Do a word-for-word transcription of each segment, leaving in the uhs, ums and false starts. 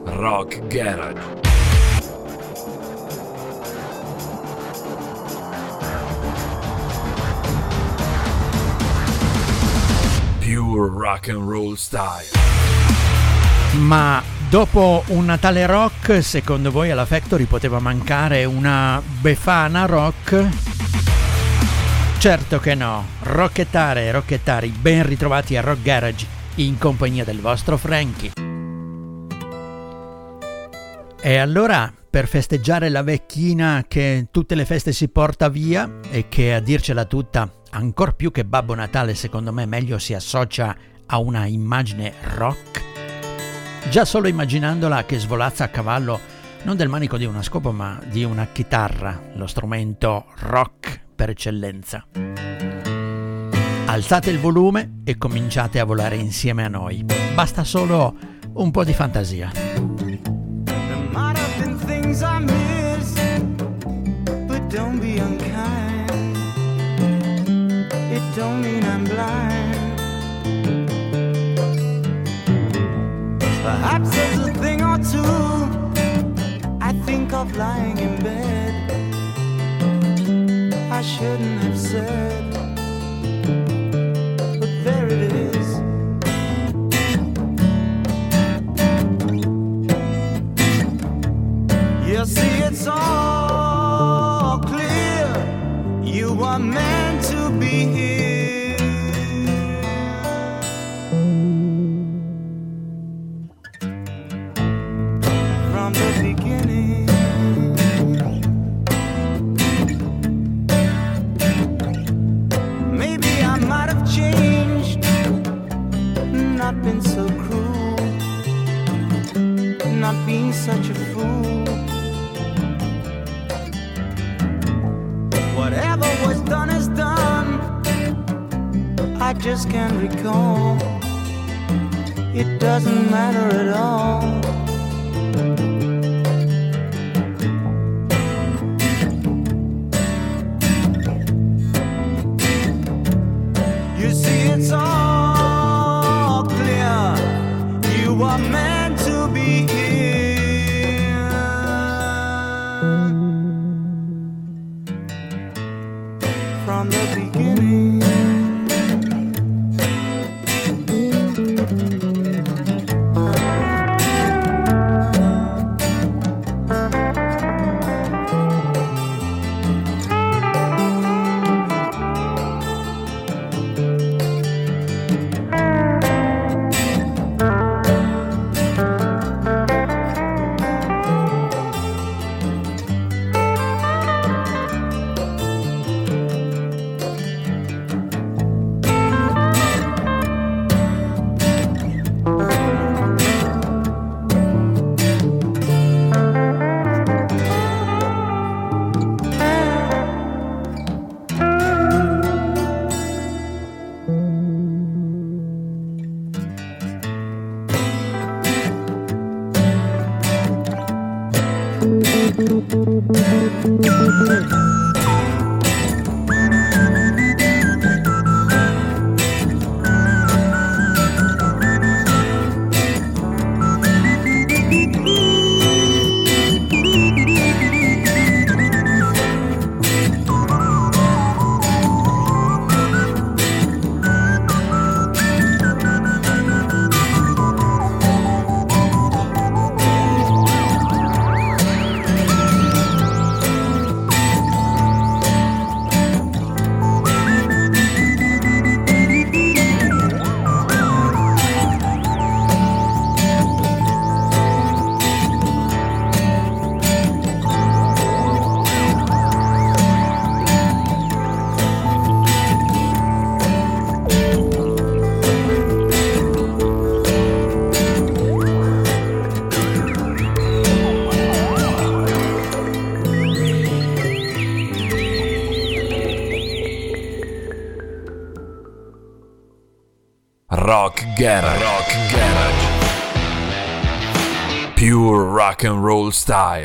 Rock Garage. Pure rock and roll style. Ma dopo un tale rock, secondo voi alla Factory poteva mancare una Befana rock? Certo che no. Rockettare e rockettari, ben ritrovati a Rock Garage in compagnia del vostro Frankie. E allora, per festeggiare la vecchina che tutte le feste si porta via e che, a dircela tutta, ancor più che Babbo Natale, secondo me meglio si associa a una immagine rock, già solo immaginandola che svolazza a cavallo non del manico di una scopa ma di una chitarra, lo strumento rock per eccellenza. Alzate il volume e cominciate a volare insieme a noi. Basta solo un po' di fantasia. There might have been things I missed, but don't be unkind. It don't mean I'm blind. Perhaps there's a thing or two I think of lying in bed I shouldn't have said, but there it is. You see, it's all clear. You are meant to be here. From the beginning. Maybe I might have changed, not been so cruel, not being such a fool. Whatever was done is done. I just can't recall. It doesn't matter at all. You see, it's all clear. You are meant to be here. From the beginning. Rock Garage. Rock Garage. Pure rock and roll style.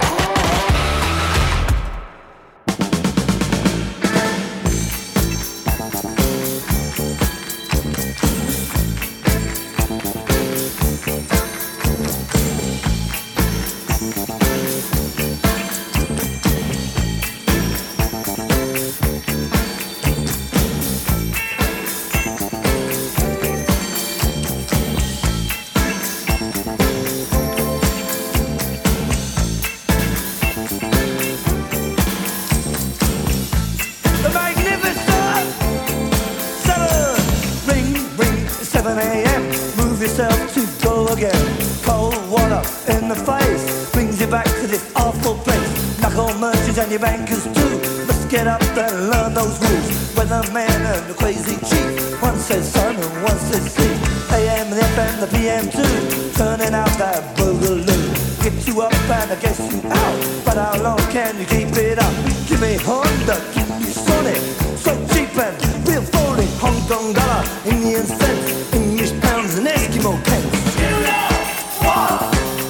again. Cold water in the face brings you back to this awful place. Knuckle merchants and your bankers too must get up and learn those rules. Weatherman and the crazy chief, one says sun and one says sea. A M and F M, the P M too, turning out that boogaloo. Get you up and I guess you out, but how long can you keep it up? Give me Honda, give me Sonic, so cheap and real phony. Hong Kong dollar, Indian cents, English pounds and Eskimo pence. You know what?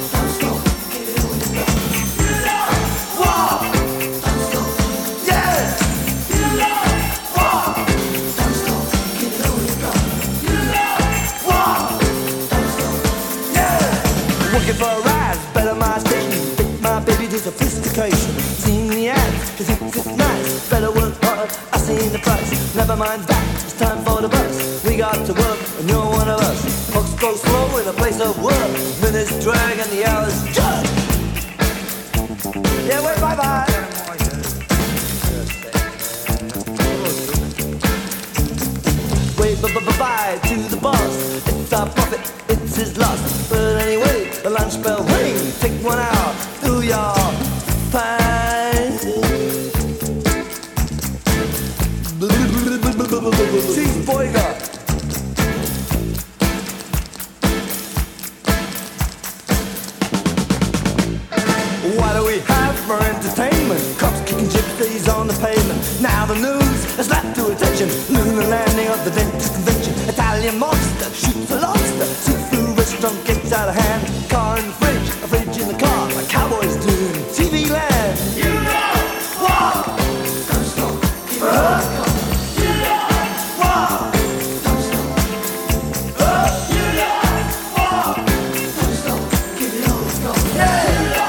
Looking for a rise, better my station. Think my baby to sophistication. Seen the ads, cause it's nice. Better work hard, I seen the price. Never mind that, it's time for the bus. We got to work, and you're one of us. Clocks go slow in a place of work. Minutes drag and the hours judge. Yeah, wait, bye bye. Wait, bye-bye to the boss. It's our profit, it's his loss. But anyway, the lunch bell ring. Take one out, do your fine. Chief Boyga. What do we have for entertainment? Cops kicking gypsies on the pavement. Now the news has slapped to attention. Lunar landing of the dentist convention. Italian monster shoots a lobster. Seafood restaurant gets out of hand. Car in the fridge, a fridge in the car. Like cowboys do in T V land. You know what? Don't stop, keep it uh, you know what? Don't stop. Uh, you know what? Don't stop, keep it on. Yeah.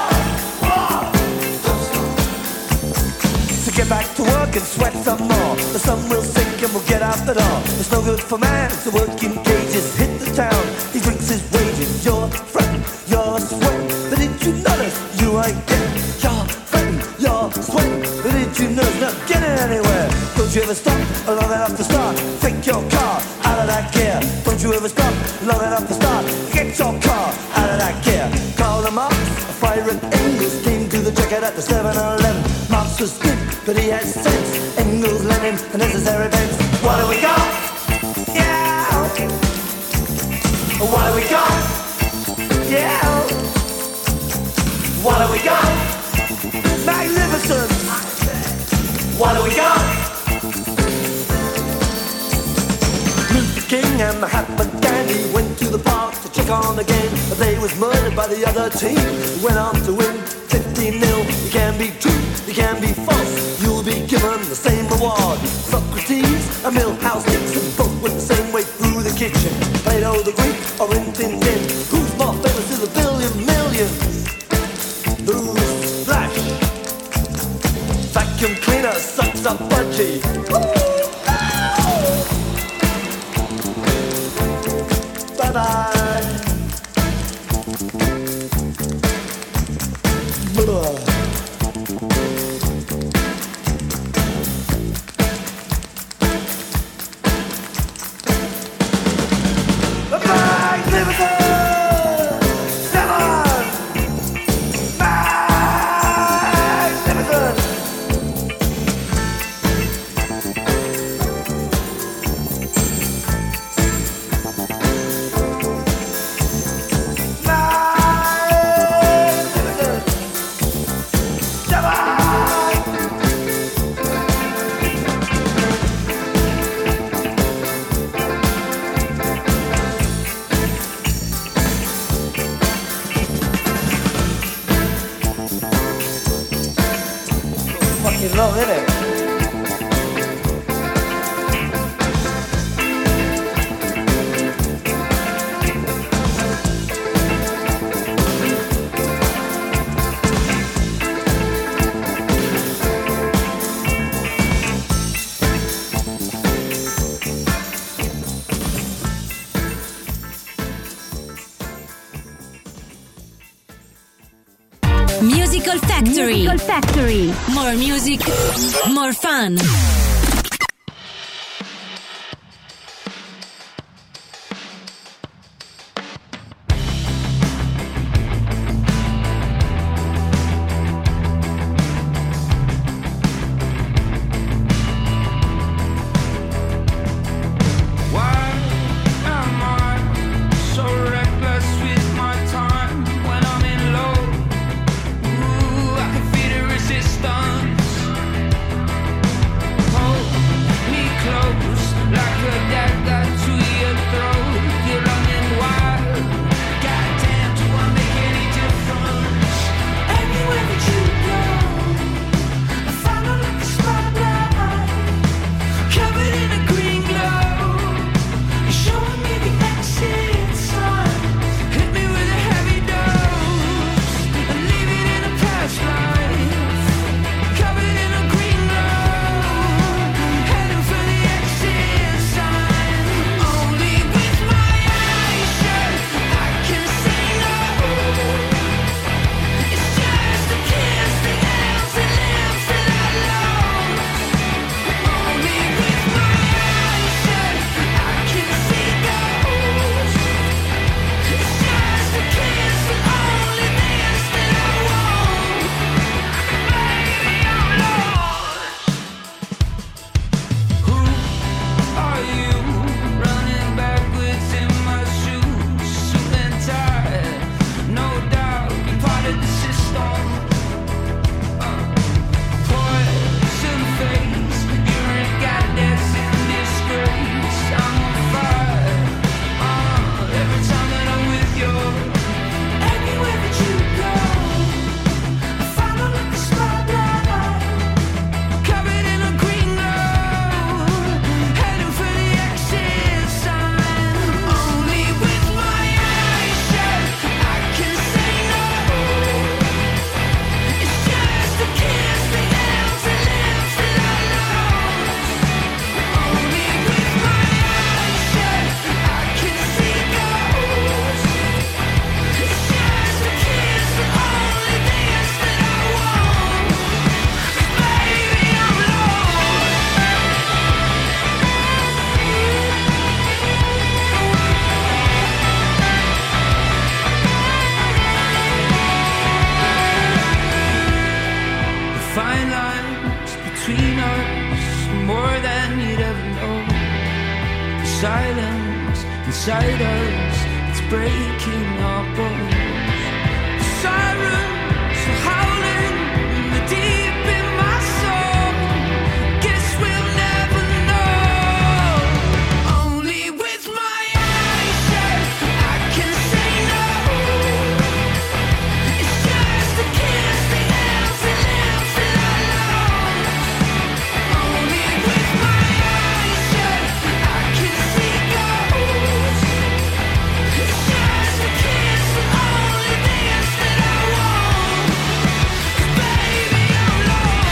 Get back to work and sweat some more. The sun will sink and we'll get out the door. It's no good for man to work in cages. Hit the town, he drinks his wages. You're fretting, you're sweating, but did you notice you ain't getting? You're fretting, you're sweating, but did you notice not getting anywhere? Don't you ever stop long enough to start? Take your car out of that gear. Don't you ever stop long enough to start? Get your car out of that gear. Call them up, a fire at Engels came to the jacket at the seven eleven. Marx was good, but he had sense. Engels, Lenin, and necessary events. What do we got? Yeah. What do we got? Yeah. What do we got? Magnificent. What do we got? Luther King and Mahatma Gandhi went to the park to check on the game. But they was murdered by the other team. Went on to win fifteen nil. You can be true, you can be false. You'll be given the same reward. Socrates and Milhouse Nixon both went the same way through the kitchen. Plato the Greek or Rin Tin Tin. Who's more famous to the billion millions? Who's Flash? Vacuum cleaner sucks up budgie. Bye bye. Blah. Long, isn't it? Musical Factory. Musical Factory. More music, more fun. silence inside us, it's breaking our bones. Sirens are howling in the deep in my soul. Guess we'll never know. Only with my eyes shut I can say no. It's just a kiss, the empty lips that I love. Only with my eyes shut I can see ghosts. It's just a kiss, the only dance that I want. 'Cause baby I'm lost.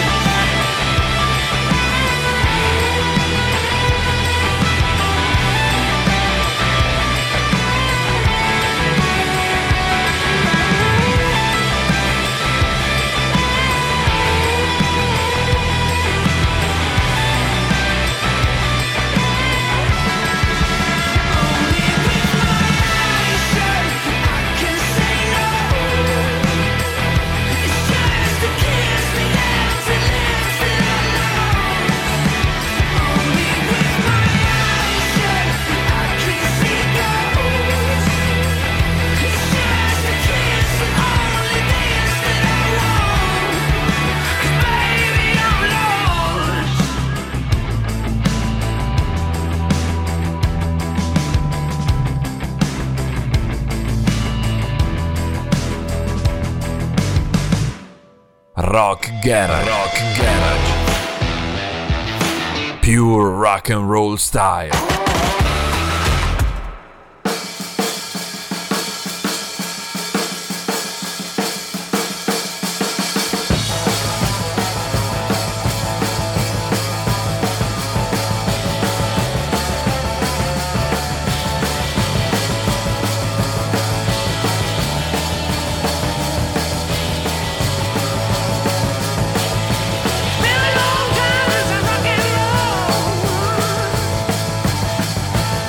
Only with my eyes shut I can say no. It's just a kiss, the empty lips that I love. Only with my eyes shut I can see ghosts. It's just a kiss, the only dance that I want. 'Cause baby I'm lost. Rock Garage. Rock Garage. Pure rock and roll style. Been a long time since I rock and roll.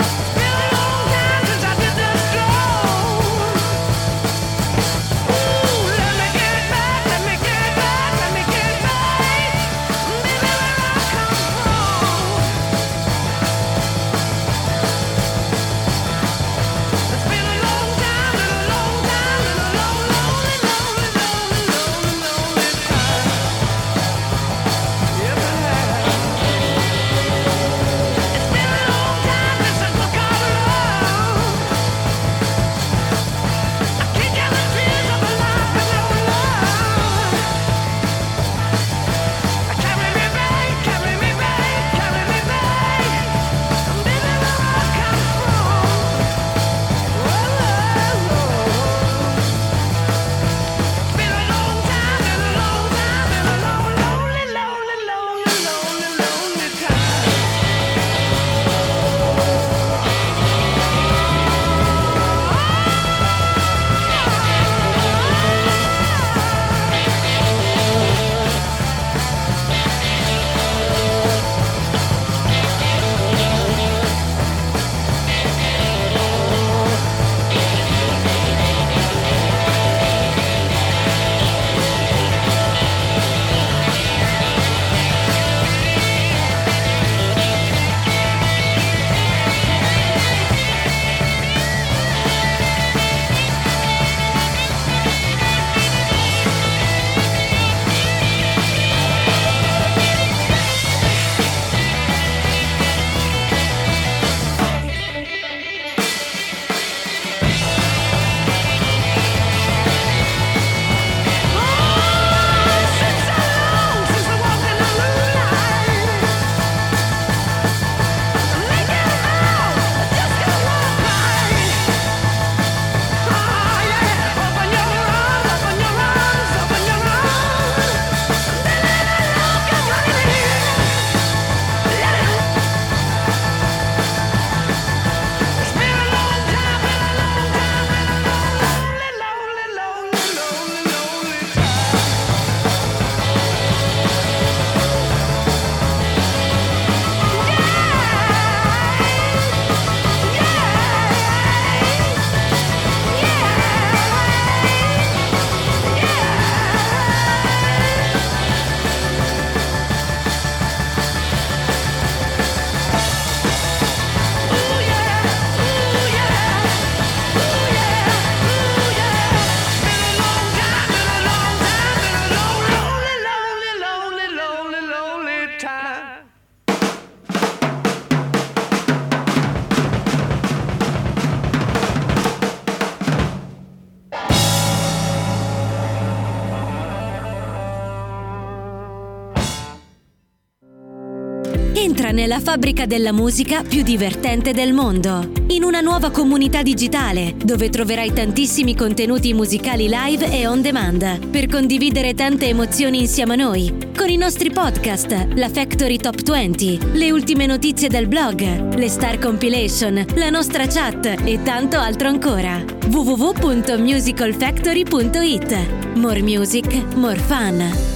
nella fabbrica della musica più divertente del mondo. In una nuova comunità digitale, dove troverai tantissimi contenuti musicali live e on demand, per condividere tante emozioni insieme a noi, con i nostri podcast, la Factory Top venti, le ultime notizie del blog, le Star Compilation, la nostra chat e tanto altro ancora. w w w punto musical factory punto i t. More music, more fun.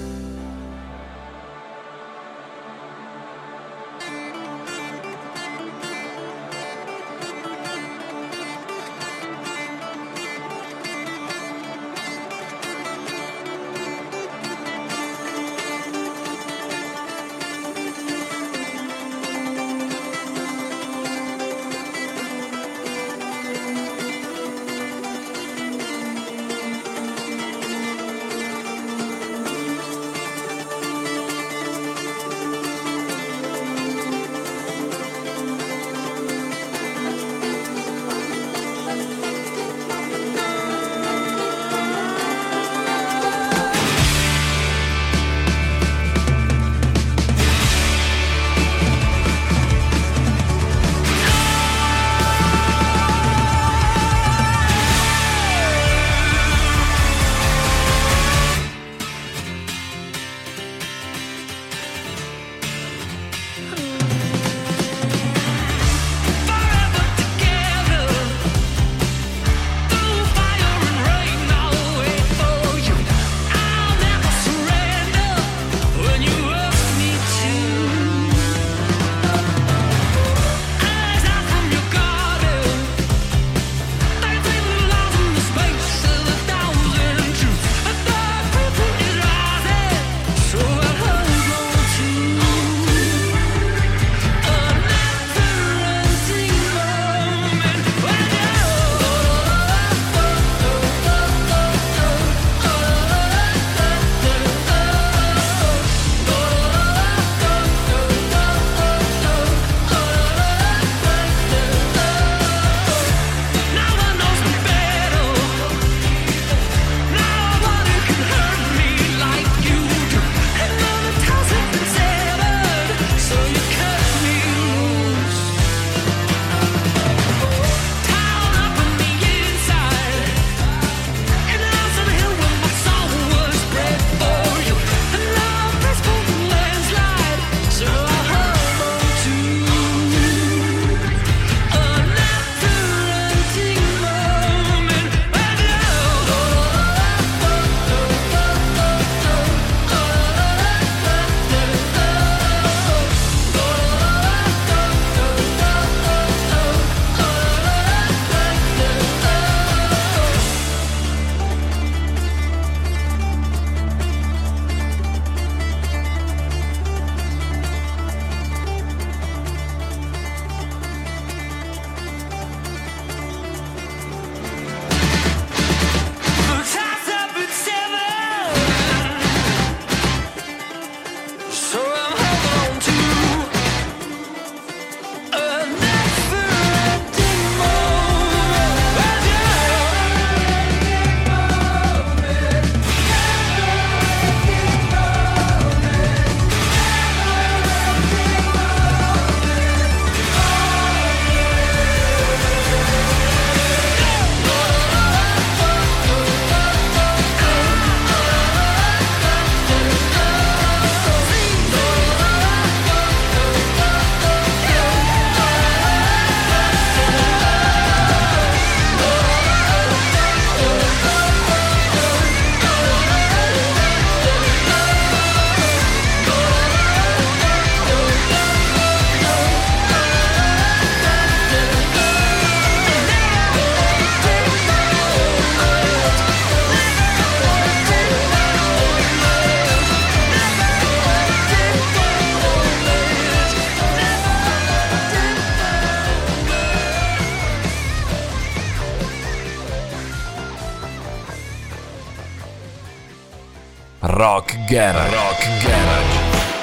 Rock Garage. Rock Garage.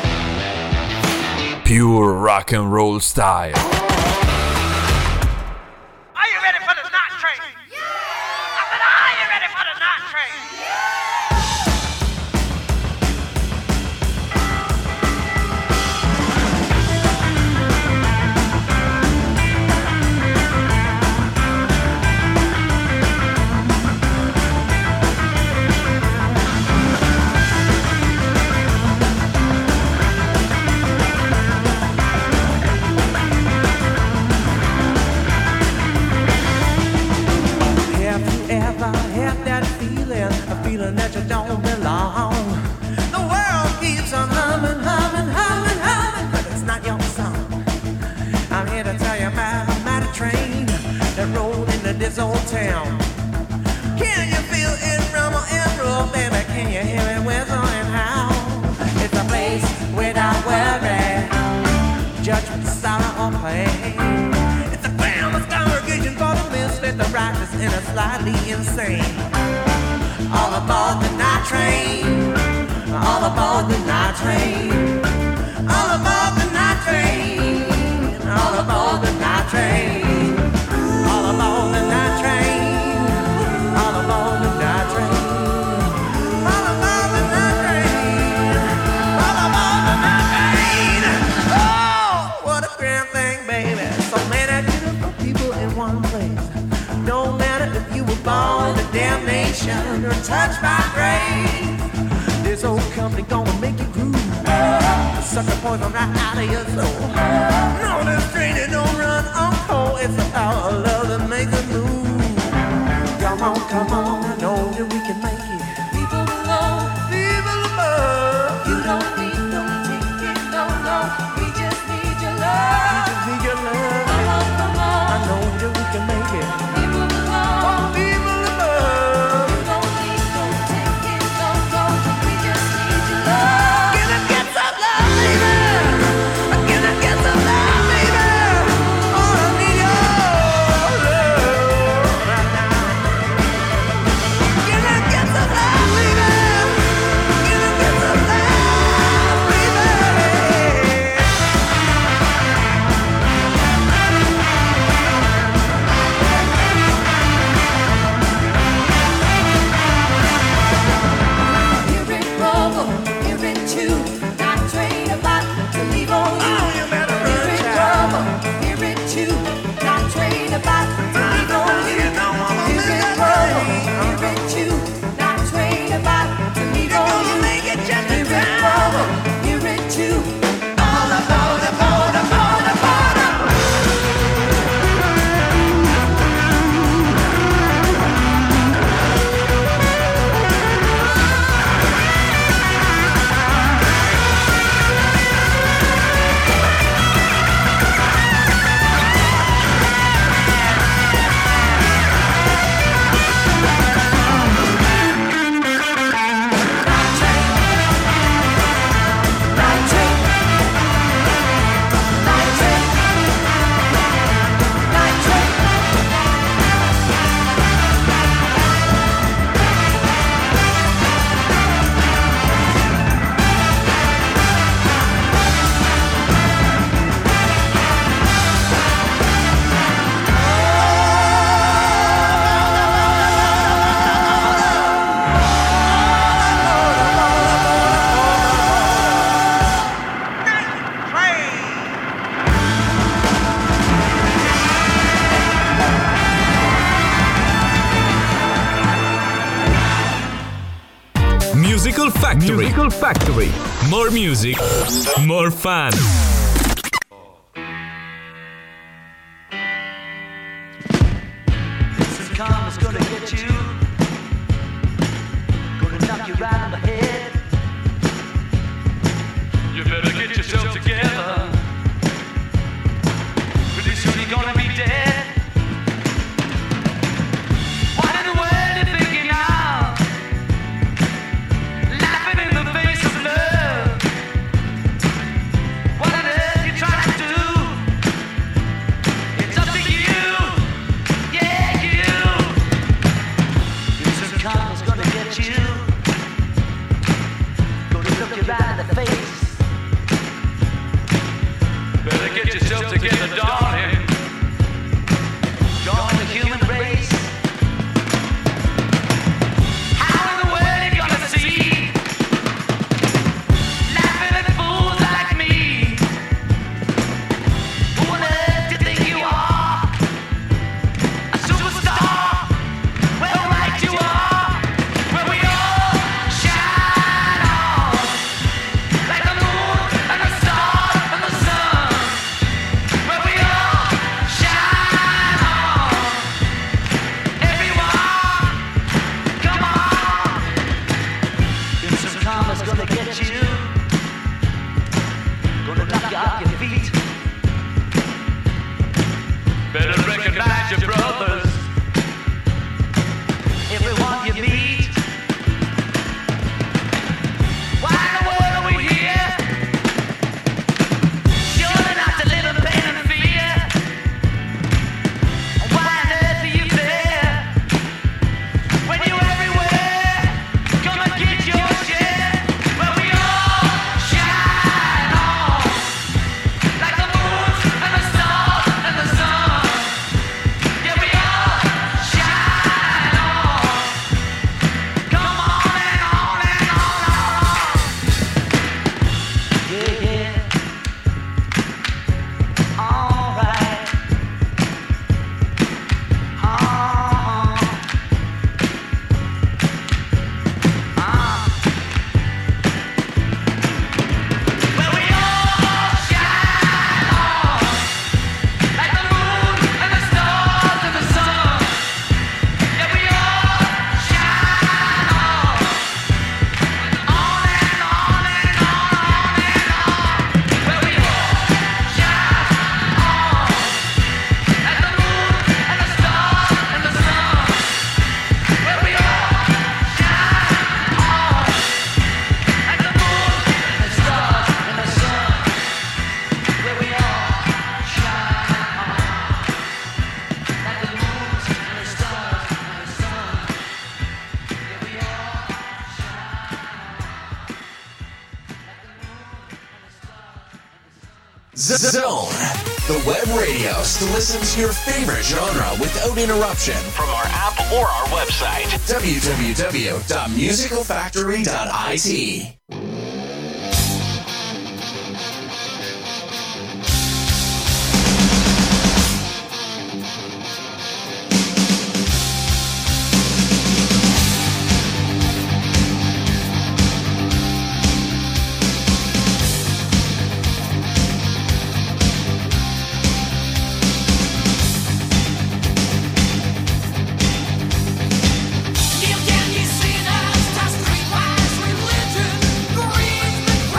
Pure rock and roll style. Are you ready for the night train? Yeah! I said, are you ready for the night train? Yeah! I'm here to tell you about a mighty train that rolled into this old town. Can you feel it rumble and roll, baby? Can you hear it whistle and howl? It's a place without worry, judgment, sorrow, or pain. It's a famous congregation for the misfit, the righteous, and the slightly insane. All aboard the night train, all aboard the night train, all aboard the night train, all aboard the night train, all aboard the night train, all aboard the night train, all aboard the night train, all aboard the night train. Oh, what a grand thing, baby! So many beautiful people in one place. No matter if you were born to damnation or touched by grace, this old company gonna make you groove. Suck the poison right out of your soul. No, this train it don't run on cold. It's the power of love that makes it move. Come on, come on, I know that we can make it. People below, people above. You don't need no ticket, no, no. We just need your love. We just need your love. Come on, come on. I know that we can make it. People below, oh, people above. You don't need no ticket, no, no. We just need your love. Can I get some love, baby? Can I get some love, baby? Oh, I need your love right now. Can I get some love, baby? Can I get some love, baby? Hear it rumble, hear it chew, not train about to leave on you. Oh, you better run, hear it rumble, hear it chew, not train about to leave on you. Hear it rumble, hear it chew, not train about to leave on you. Hear it rumble, hear it chew, all aboard, aboard, aboard, aboard. Night train, night train, night train. Musical Factory. Musical Factory. More music, more fun. This karma's gonna get you, gonna knock you right on the head. You better get yourself together. Pretty soon you're gonna be dead. What in the world you thinking now? Laughing in the face of love. What on earth you trying to do? It's up to you. Yeah, you. This karma's gonna get you, gonna look you right in the face. Better get yourself together, darling. Join the human race. How in the world you gonna see? Laughing at fools like me. Who on earth do you think you are? A superstar? Well, right you are. Where we all shine on. Like the moon and the stars and the sun. Where we all Zone, the web radio to listen to your favorite genre without interruption from our app or our website, w w w dot musical factory dot i t. Can you see that streetwise religion?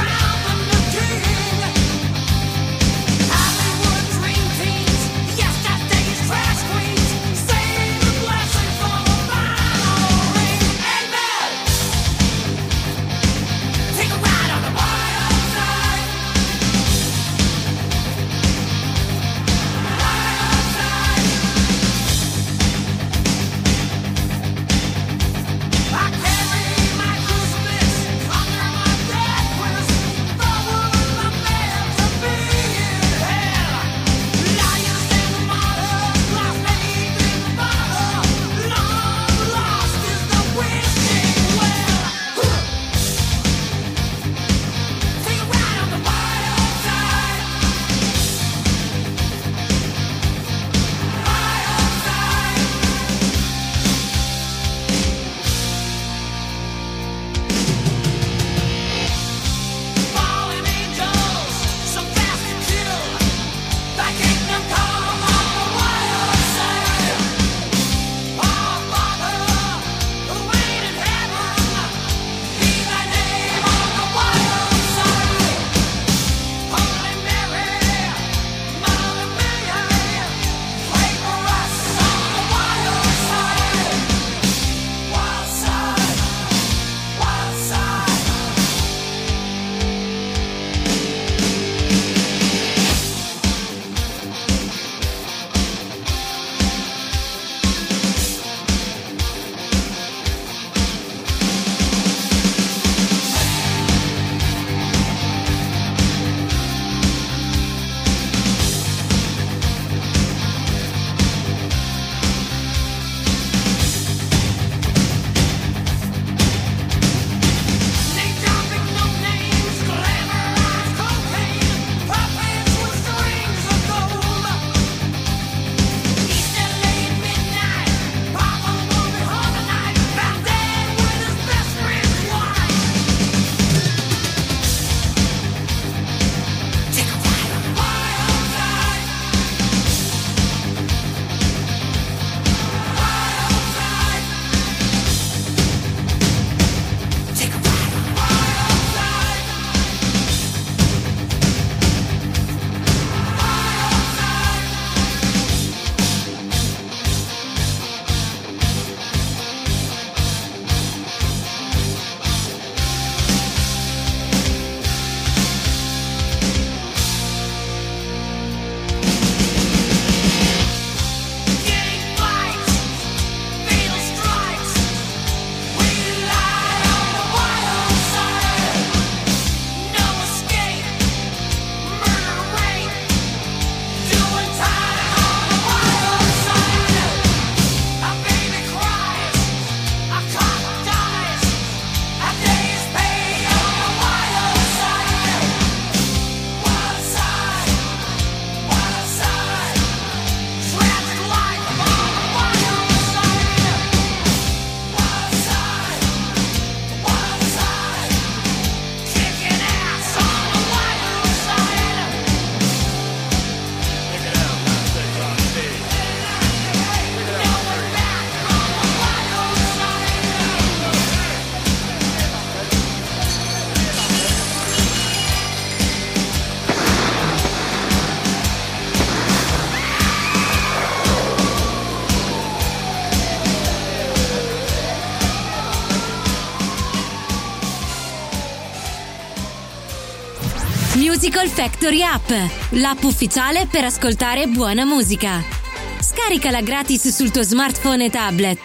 Musical Factory App, l'app ufficiale per ascoltare buona musica. Scaricala gratis sul tuo smartphone e tablet.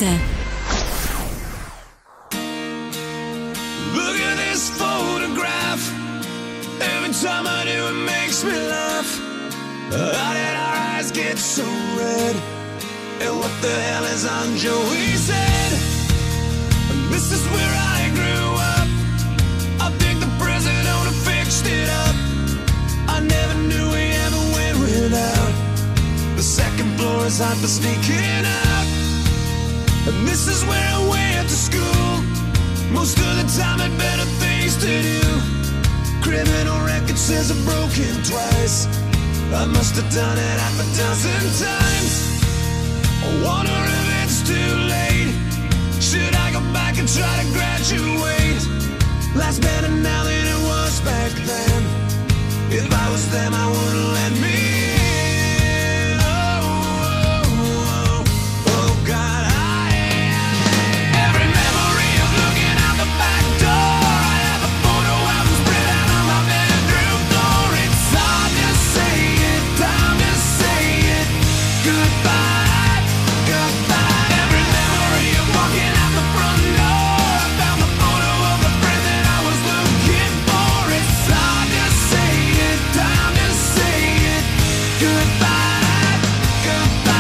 Look at this photograph. Every time I do it makes me laugh. How did our eyes get so red? And what the hell is on Joey's head? And this is where I grew up. I think the president owner fixed it up. I never knew we ever went without. The second floor is hot for sneaking out. And this is where I went to school. Most of the time had better things to do. Criminal record says I've broken twice. I must have done it half a dozen times. I wonder if it's too late. Should I go back and try to graduate? Life's better now than it was back then. If I was them, I wouldn't let me in. Oh, oh, oh, oh God, I every memory of looking out the back door. I have a photo album spread out on my bedroom floor. It's hard to say it, time to say it. Goodbye, goodbye. Every memory of walking out the front door. I found the photo of the friend that I was looking for. It's hard to say it, time to say it. Goodbye, goodbye.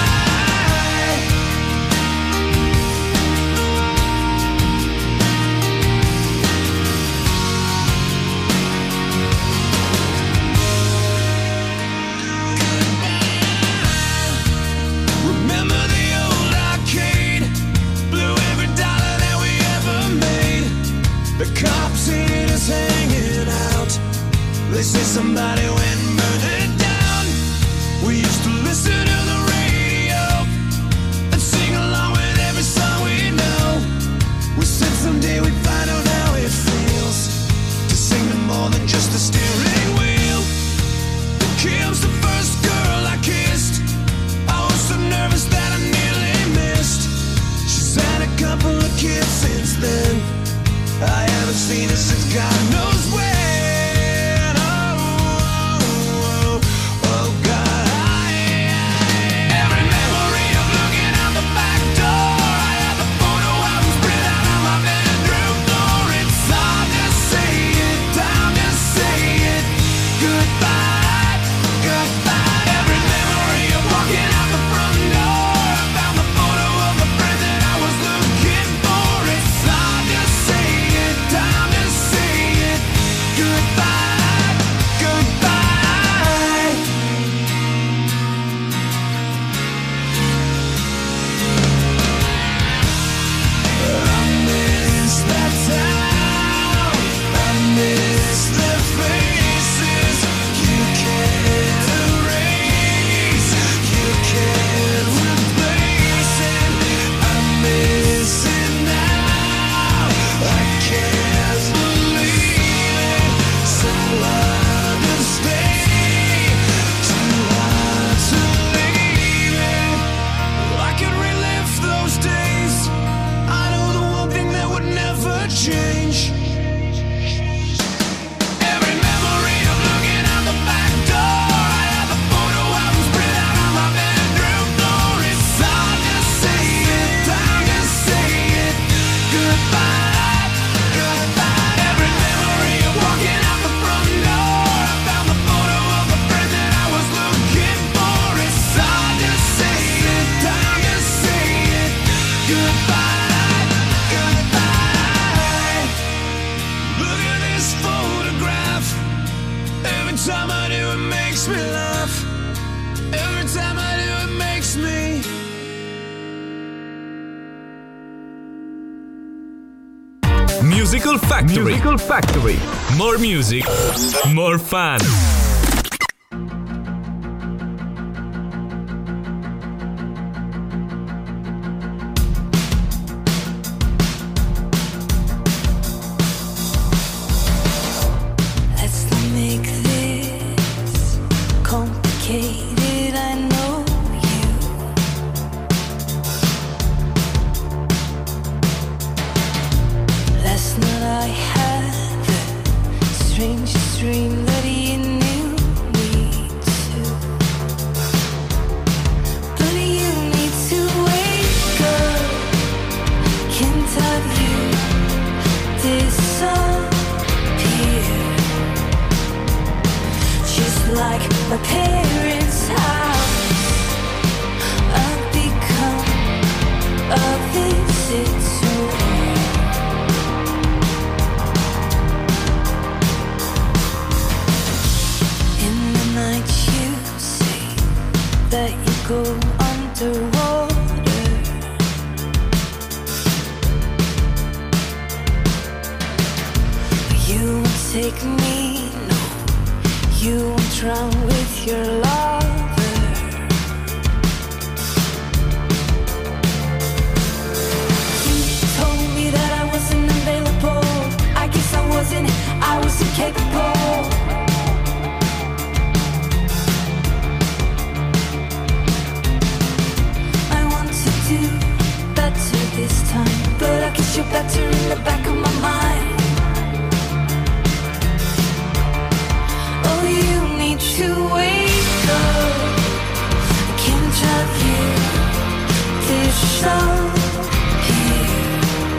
Remember the old arcade? Blew every dollar that we ever made. The cops seen us hanging out. They say somebody went and burned it down. We used to listen to the radio and sing along with every song we know. We said someday we'd find out how it feels to sing to more than just a steering wheel. Kim's the first girl I kissed. I was so nervous that I nearly missed. She's had a couple of kids since then. I haven't seen her since God knows when. Oh, oh, oh, oh God, I every memory of looking out the back door. I have a photo album spread out on my bedroom floor. It's hard to say it, time to say it. Goodbye, goodbye. Every memory of walking out the front door. I found the photo of the friend that I was looking for. It's hard to say it, time to say it. Goodbye, goodbye. I miss that town. I miss the faces. You can't erase. You can't replace it. I miss it now. I can't believe it. So hard to stay. Too hard to leave it. I could relive those days. I know the one thing that would never change. Every memory of looking out the back door. I have a photo album spread out on my bedroom floor. It's hard to say it, time to say it. Goodbye, goodbye. Every memory of walking out the front door. I found the photo of the friend that I was looking for. It's hard to say it, time to say it. Goodbye, goodbye. Look at this photograph. Every time I do it makes me laugh. Every time I do it makes me. Musical Factory. Musical Factory. More music, more fun. Let's not make this complicated. I know you. Last night I had the strangest dream that you knew me too. But you need to wake up. Can't have you disappear. Just like my parents that you go underwater. You won't take me, no. You won't drown with your lover. You told me that I wasn't available. I guess I wasn't, I was incapable. I want to do better this time, but I guess you're better in the back of my mind. Oh, you need to wake up. I can't drive you disappear.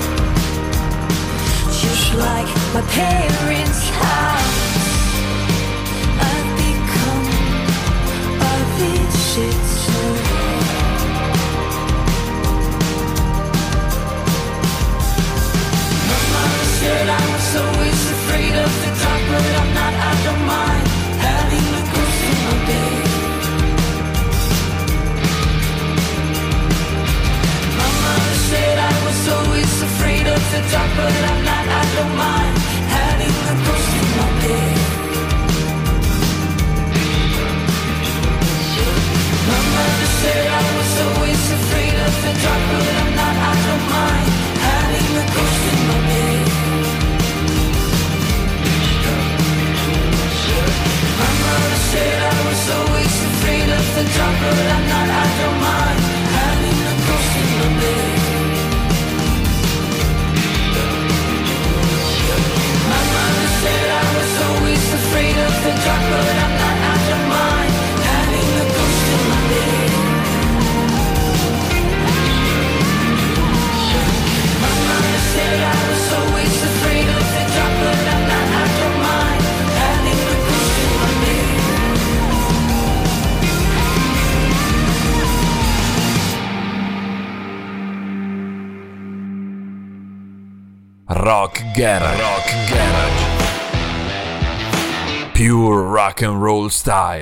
Just like my parents' house, I've become a visitor. My mama said I was always afraid of the dark, but I'm not, I don't mind having a ghost in my bed. My mama said I was always afraid of the dark, but I'm not, I don't mind having a ghost in my bed. My mother said I was always afraid of the dark, but I'm not, I don't mind having a ghost in my bed. My mother said I was always afraid of the dark, but I'm not, I don't mind having a ghost in my bed. My mother said I was always afraid of the dark, but I'm not, I don't mind having a ghost in my bed. My mother said I was always afraid of the dark, but I'm not, I don't mind having a ghost in my bed. Rock Garage. Rock Garage. Pure rock and roll style.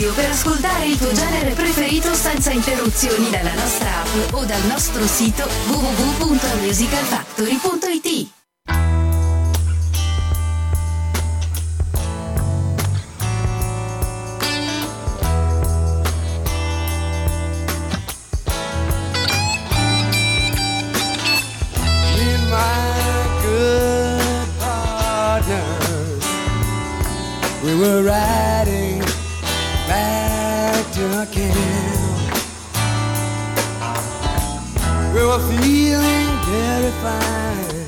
radio per ascoltare il tuo genere preferito senza interruzioni dalla nostra app o dal nostro sito w w w punto musical factory punto i t. We were riding back to our camp. We were feeling very fine.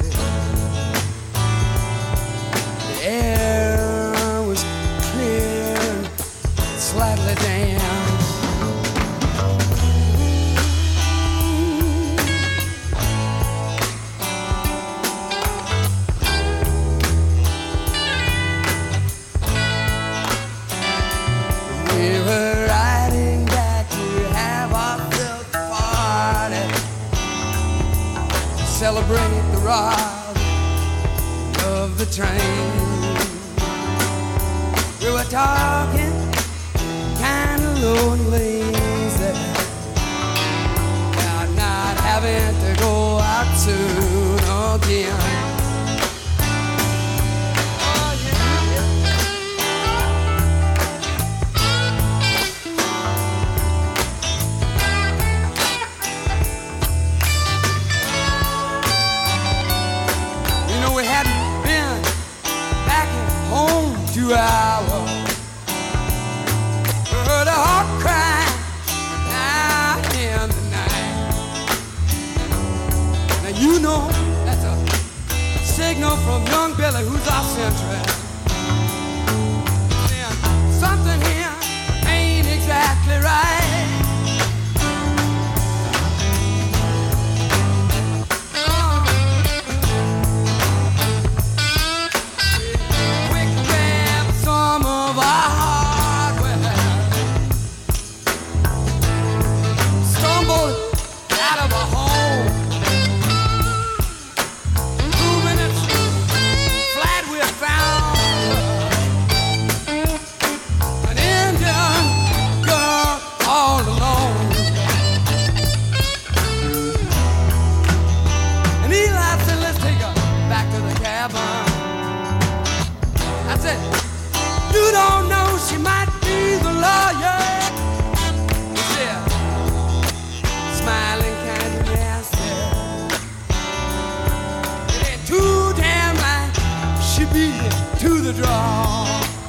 The air was clear and slightly damp. We were riding back to have ourselves a party, celebrate the ride of the train. We were talking kind of low and lazy about not having to go out soon again. Two hours, heard a heart cry down in the night. Now you know that's a signal from young Billy, who's our sentry. Then something here ain't exactly right. You don't know, she might be the lawyer. He said, smiling kind of nasty. It ain't too damn right, she beat me to the draw.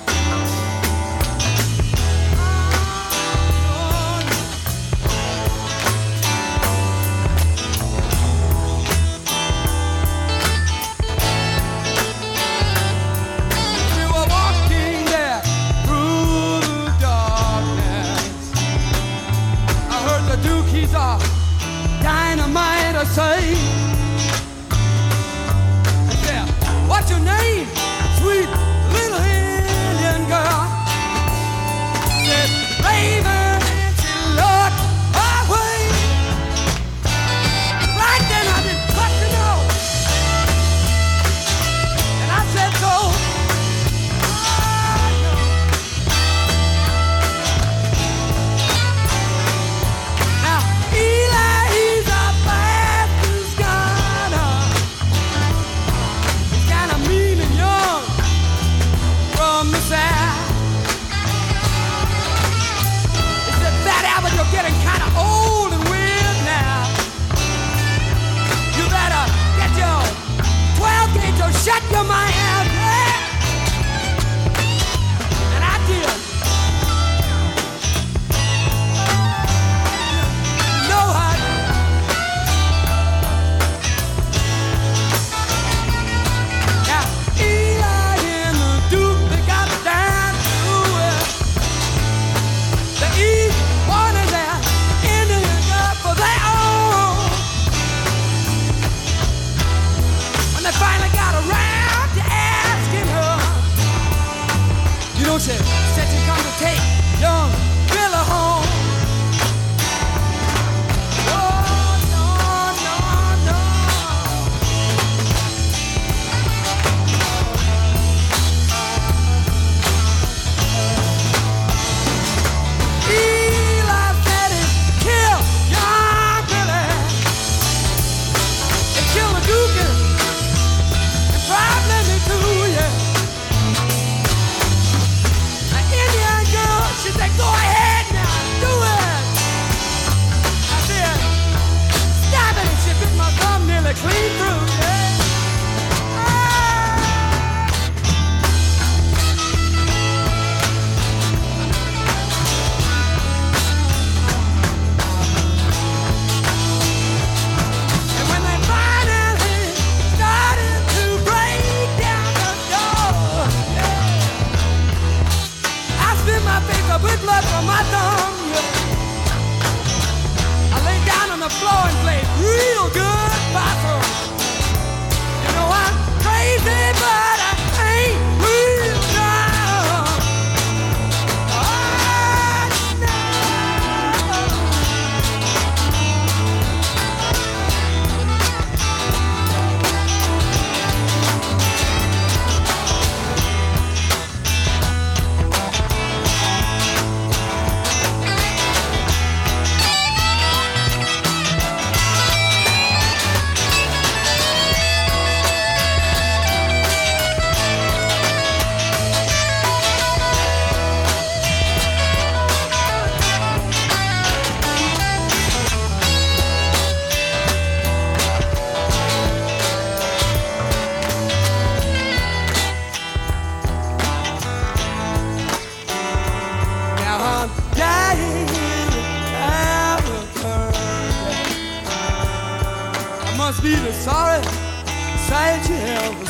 Dynamite, I say. I said, what's your name, sweet little hen?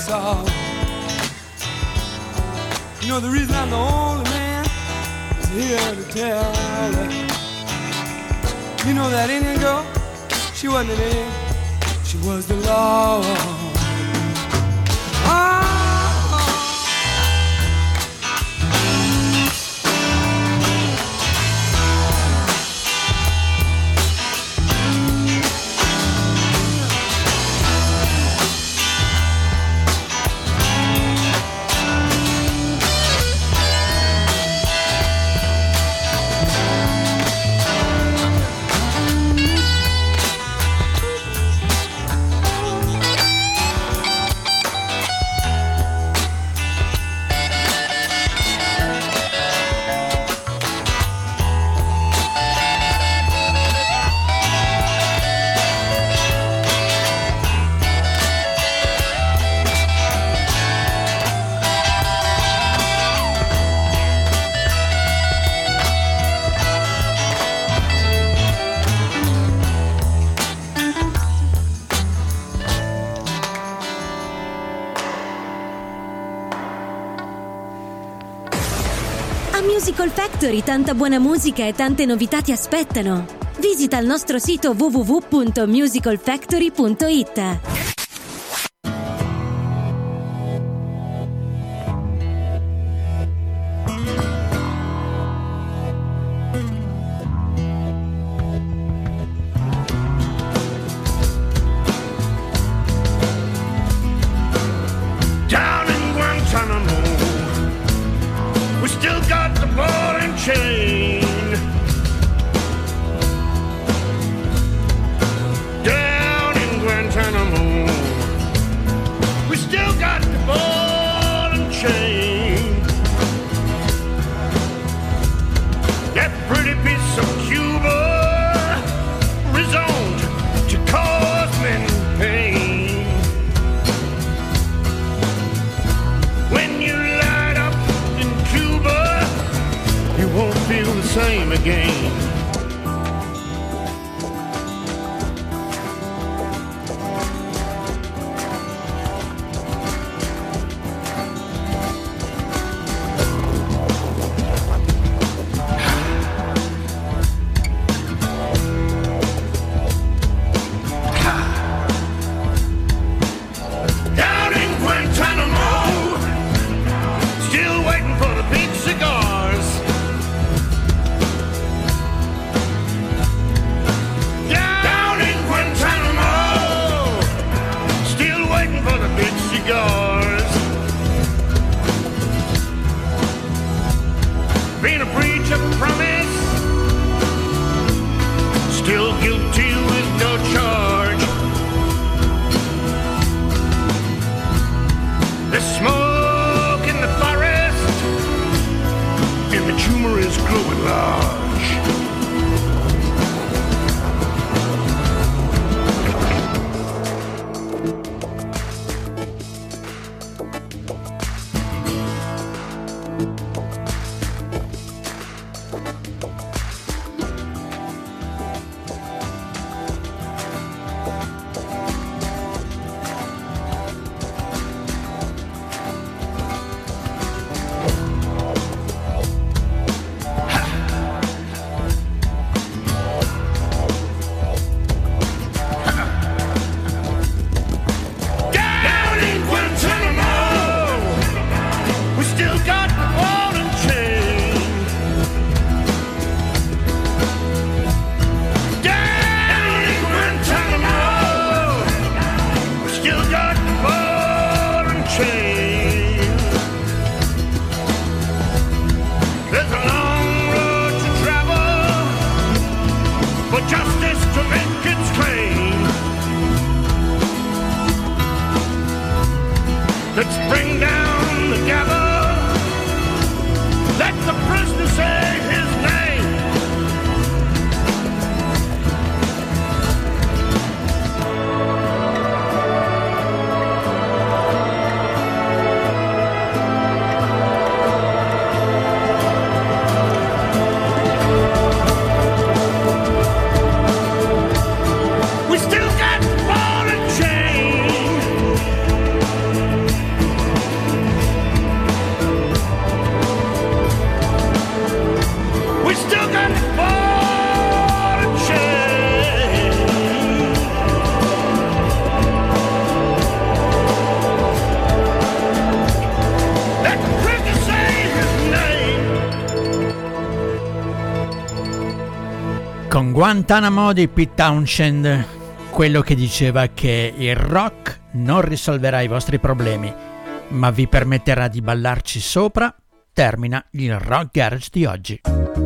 saw. You know the reason I'm the only man is here to tell it. You know that Indian girl, she wasn't an Indian, she was the law. Ah. Musical Factory, tanta buona musica e tante novità ti aspettano. Visita il nostro sito w w w punto musical factory punto i t. Down in Guantanamo, we still got the ball and chain. Down in Guantanamo, we still got the ball and chain. That pretty piece of Cuba rezoned to cause men pain. When you light up in Cuba, you won't feel the same again. Down in Guantanamo, still waiting for the big cigars. Down in Guantanamo, still waiting for the big cigars. Being a breach of promise, still guilty with no charge. There's smoke in the forest, and the tumor is growing large. Down in Guantanamo, we still got the ball and chain. Down in Guantanamo, we still got the ball and chain. There's a long road to travel for justice to make its claim. Let's bring down the gavel. Let the prisoner say his name. We still got the ball and chain. Con Guantanamo di Pete Townshend, quello che diceva che il rock non risolverà i vostri problemi, ma vi permetterà di ballarci sopra, termina il Rock Garage di oggi.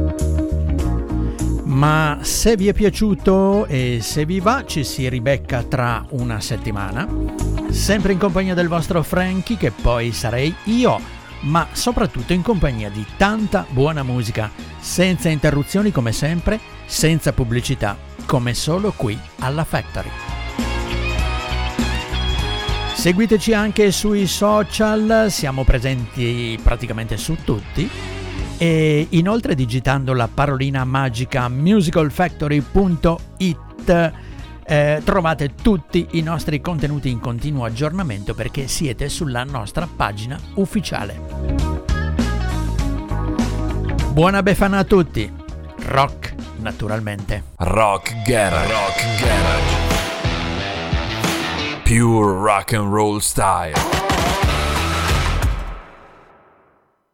Ma se vi è piaciuto e se vi va, ci si ribecca tra una settimana, sempre in compagnia del vostro Frankie, che poi sarei io, ma soprattutto in compagnia di tanta buona musica, senza interruzioni come sempre, senza pubblicità, come solo qui alla Factory. Seguiteci anche sui social, siamo presenti praticamente su tutti, e inoltre digitando la parolina magica musical factory punto it eh, trovate tutti i nostri contenuti in continuo aggiornamento, perché siete sulla nostra pagina ufficiale. Buona Befana a tutti, rock naturalmente. Rock Garage. Rock Garage. Pure rock and roll style.